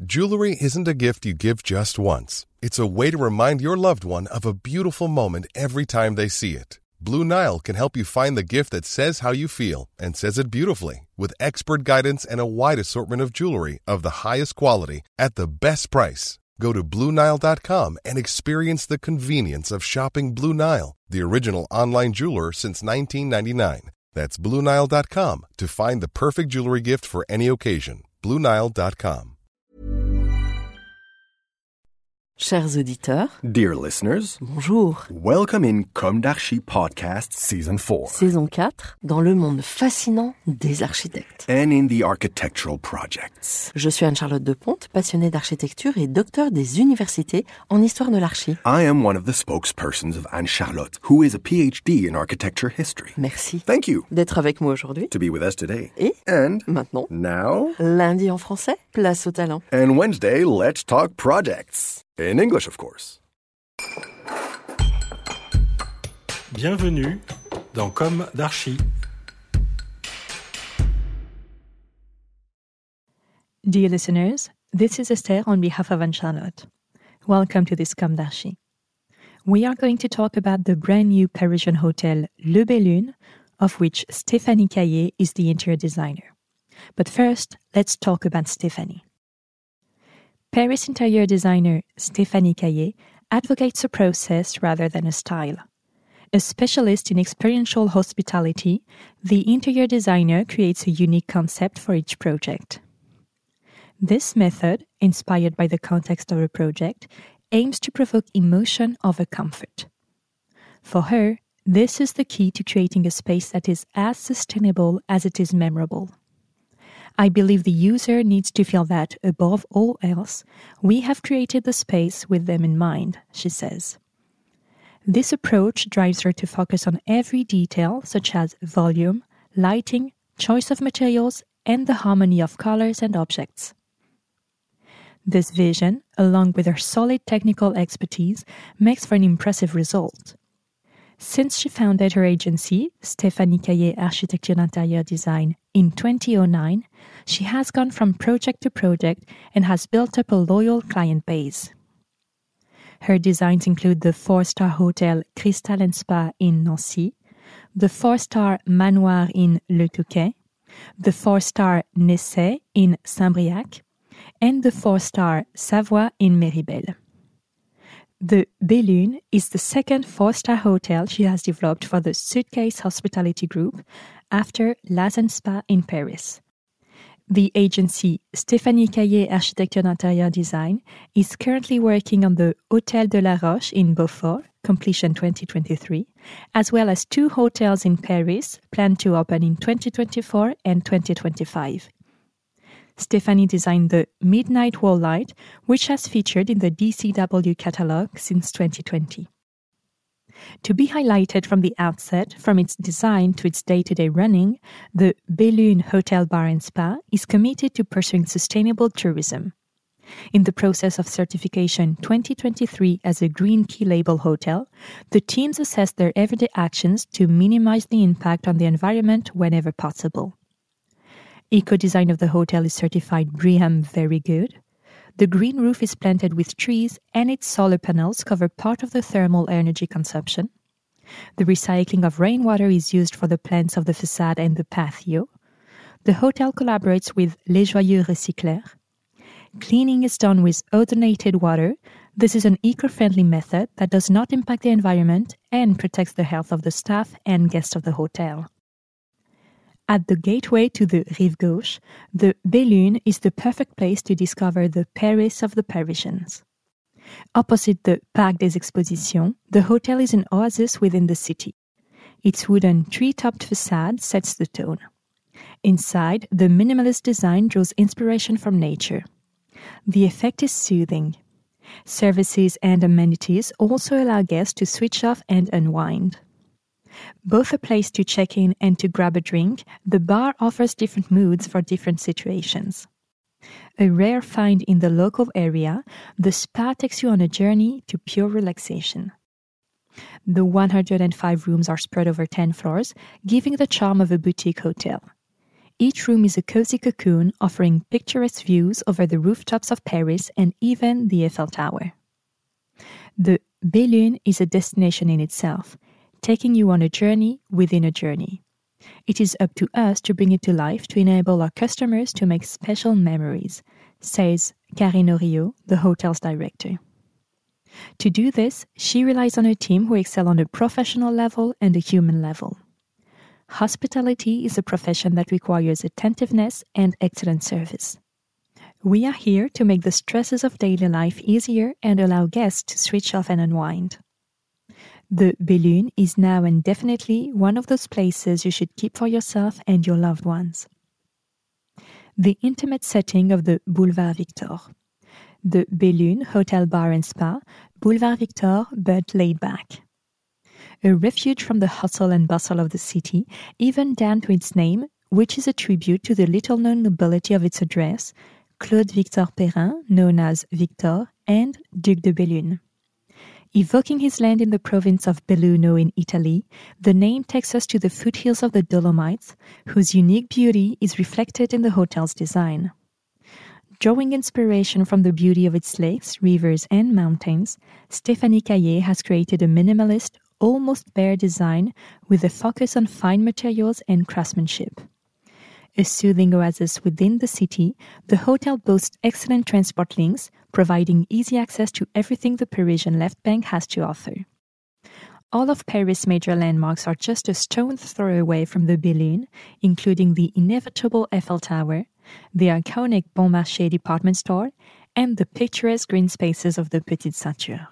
Jewelry isn't a gift you give just once. It's a way to remind your loved one of a beautiful moment every time they see it. Blue Nile can help you find the gift that says how you feel and says it beautifully, with expert guidance and a wide assortment of jewelry of the highest quality at the best price. Go to BlueNile.com and experience the convenience of shopping Blue Nile, the original online jeweler since 1999. That's BlueNile.com to find the perfect jewelry gift for any occasion. BlueNile.com. Chers auditeurs, dear listeners, bonjour. Welcome in Comme d'Archi Podcast Season 4. Saison 4, dans le monde fascinant des architectes. And in the architectural projects. Je suis Anne-Charlotte Deponte, passionnée d'architecture et docteur des universités en histoire de l'archi. I am one of the spokespersons of Anne-Charlotte, who is a PhD in architecture history. Merci. Thank you. D'être avec moi aujourd'hui. To be with us today. Et And maintenant, now, lundi en français, place au talent. And Wednesday, let's talk projects. In English, of course. Bienvenue dans Comme d'Archi. Dear listeners, this is Esther on behalf of Anne-Charlotte. Welcome to this Comme d'Archi. We are going to talk about the brand new Parisian hotel Le Bellune, of which Stéphanie Caillé is the interior designer. But first, let's talk about Stéphanie. Paris interior designer Stéphanie Caillé advocates a process rather than a style. A specialist in experiential hospitality, the interior designer creates a unique concept for each project. This method, inspired by the context of a project, aims to provoke emotion over comfort. For her, this is the key to creating a space that is as sustainable as it is memorable. I believe the user needs to feel that, above all else, we have created the space with them in mind, she says. This approach drives her to focus on every detail, such as volume, lighting, choice of materials, and the harmony of colors and objects. This vision, along with her solid technical expertise, makes for an impressive result. Since she founded her agency, Stéphanie Caillé Architecture d'Intérieur Design, in 2009, she has gone from project to project and has built up a loyal client base. Her designs include the 4-star hotel Cristal & Spa in Nancy, the 4-star Manoir in Le Touquet, the 4-star Nessay in Saint-Briac, and the 4-star Savoie in Méribel. The Bellune is the second 4-star hotel she has developed for the Suitcase Hospitality Group after Laz & Spa in Paris. The agency Stéphanie Caillé Architecture d'Intérieur Design is currently working on the Hôtel de la Roche in Beaufort, completion 2023, as well as 2 hotels in Paris planned to open in 2024 and 2025. Stéphanie designed the Midnight Wall Light, which has featured in the DCW catalog since 2020. To be highlighted from the outset, from its design to its day-to-day running, the Bellune Hotel Bar and Spa is committed to pursuing sustainable tourism. In the process of certification 2023 as a Green Key Label hotel, the teams assess their everyday actions to minimize the impact on the environment whenever possible. Eco-design of the hotel is certified BREEAM Very Good. The green roof is planted with trees and its solar panels cover part of the thermal energy consumption. The recycling of rainwater is used for the plants of the facade and the patio. The hotel collaborates with Les Joyeux Recycleurs. Cleaning is done with ozonated water. This is an eco-friendly method that does not impact the environment and protects the health of the staff and guests of the hotel. At the gateway to the Rive Gauche, the Bellune is the perfect place to discover the Paris of the Parisians. Opposite the Parc des Expositions, the hotel is an oasis within the city. Its wooden tree-topped facade sets the tone. Inside, the minimalist design draws inspiration from nature. The effect is soothing. Services and amenities also allow guests to switch off and unwind. Both a place to check in and to grab a drink, the bar offers different moods for different situations. A rare find in the local area, the spa takes you on a journey to pure relaxation. The 105 rooms are spread over 10 floors, giving the charm of a boutique hotel. Each room is a cozy cocoon offering picturesque views over the rooftops of Paris and even the Eiffel Tower. The Bellune is a destination in itself, taking you on a journey within a journey. It is up to us to bring it to life to enable our customers to make special memories, says Karine Oriot, the hotel's director. To do this, she relies on a team who excel on a professional level and a human level. Hospitality is a profession that requires attentiveness and excellent service. We are here to make the stresses of daily life easier and allow guests to switch off and unwind. The Bellune is now and definitely one of those places you should keep for yourself and your loved ones. The intimate setting of the Boulevard Victor. The Bellune Hotel Bar and Spa, Boulevard Victor, but laid back. A refuge from the hustle and bustle of the city, even down to its name, which is a tribute to the little-known nobility of its address, Claude Victor Perrin, known as Victor, and Duc de Bellune. Evoking his land in the province of Belluno in Italy, the name takes us to the foothills of the Dolomites, whose unique beauty is reflected in the hotel's design. Drawing inspiration from the beauty of its lakes, rivers, and mountains, Stéphanie Caillé has created a minimalist, almost bare design with a focus on fine materials and craftsmanship. A soothing oasis within the city, the hotel boasts excellent transport links, providing easy access to everything the Parisian left bank has to offer. All of Paris' major landmarks are just a stone's throw away from the Bellune, including the inevitable Eiffel Tower, the iconic Bon Marché department store, and the picturesque green spaces of the Petite Ceinture.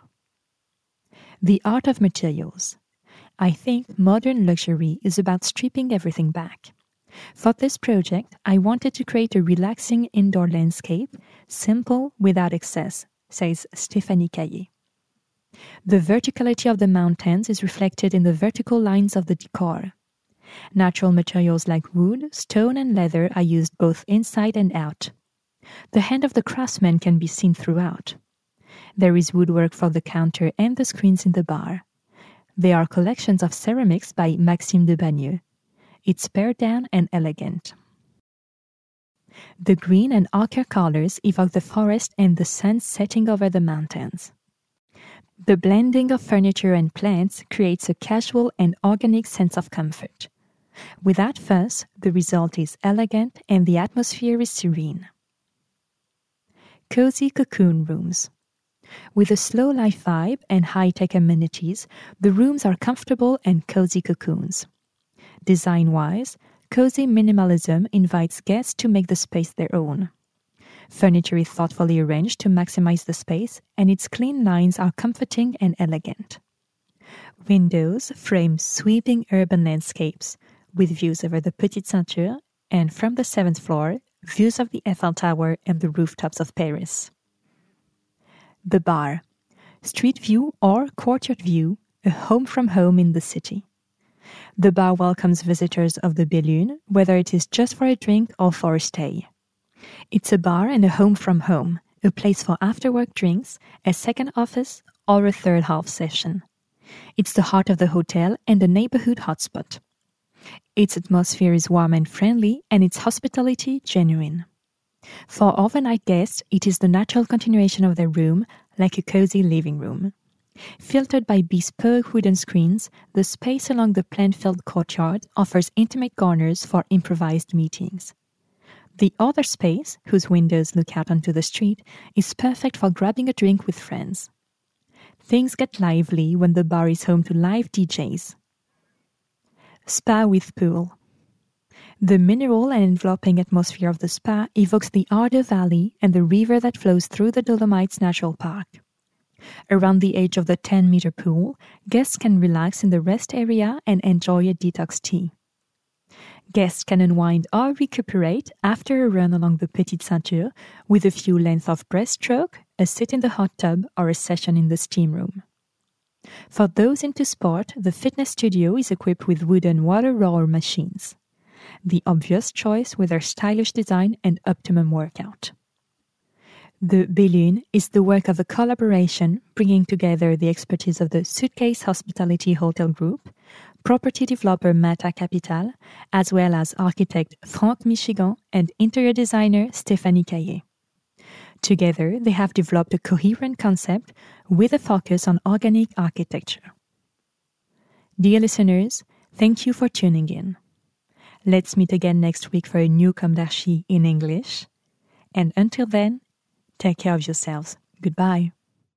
The art of materials. I think modern luxury is about stripping everything back. For this project, I wanted to create a relaxing indoor landscape, simple without excess, says Stéphanie Caillé. The verticality of the mountains is reflected in the vertical lines of the decor. Natural materials like wood, stone, and leather are used both inside and out. The hand of the craftsman can be seen throughout. There is woodwork for the counter and the screens in the bar. There are collections of ceramics by Maxime de Bagneux. It's pared down and elegant. The green and ochre colors evoke the forest and the sun setting over the mountains. The blending of furniture and plants creates a casual and organic sense of comfort. Without fuss, the result is elegant and the atmosphere is serene. Cozy cocoon rooms. With a slow life vibe and high-tech amenities, the rooms are comfortable and cozy cocoons. Design-wise, cozy minimalism invites guests to make the space their own. Furniture is thoughtfully arranged to maximize the space, and its clean lines are comforting and elegant. Windows frame sweeping urban landscapes, with views over the Petite Ceinture, and from the 7th floor, views of the Eiffel Tower and the rooftops of Paris. The bar. Street view or courtyard view, a home from home in the city. The bar welcomes visitors of the Bellune, whether it is just for a drink or for a stay. It's a bar and a home from home, a place for after-work drinks, a second office, or a third half session. It's the heart of the hotel and a neighborhood hotspot. Its atmosphere is warm and friendly, and its hospitality genuine. For overnight guests, it is the natural continuation of their room, like a cozy living room. Filtered by bespoke wooden screens, the space along the plant-filled courtyard offers intimate corners for improvised meetings. The other space, whose windows look out onto the street, is perfect for grabbing a drink with friends. Things get lively when the bar is home to live DJs. Spa with pool. The mineral and enveloping atmosphere of the spa evokes the Ardo Valley and the river that flows through the Dolomites Natural Park. Around the edge of the 10-meter pool, guests can relax in the rest area and enjoy a detox tea. Guests can unwind or recuperate after a run along the Petite Ceinture with a few lengths of breaststroke, a sit in the hot tub, or a session in the steam room. For those into sport, the fitness studio is equipped with wooden water rower machines. The obvious choice with their stylish design and optimum workout. The Belune is the work of a collaboration bringing together the expertise of the Suitcase Hospitality Hotel Group, property developer Mata Capital, as well as architect Franck Michigan and interior designer Stéphanie Caillé. Together, they have developed a coherent concept with a focus on organic architecture. Dear listeners, thank you for tuning in. Let's meet again next week for a new Comme d'Archi in English. And until then, take care of yourselves. Goodbye.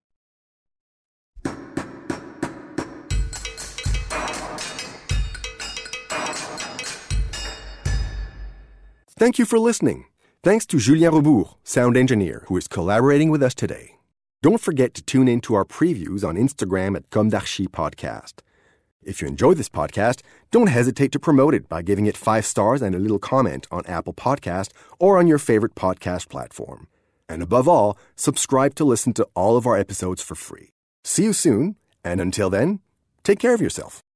Thank you for listening. Thanks to Julien Rebourg, sound engineer, who is collaborating with us today. Don't forget to tune in to our previews on Instagram at Comme d'Archi Podcast. If you enjoy this podcast, don't hesitate to promote it by giving it 5 stars and a little comment on Apple Podcast or on your favorite podcast platform. And above all, subscribe to listen to all of our episodes for free. See you soon, and until then, take care of yourself.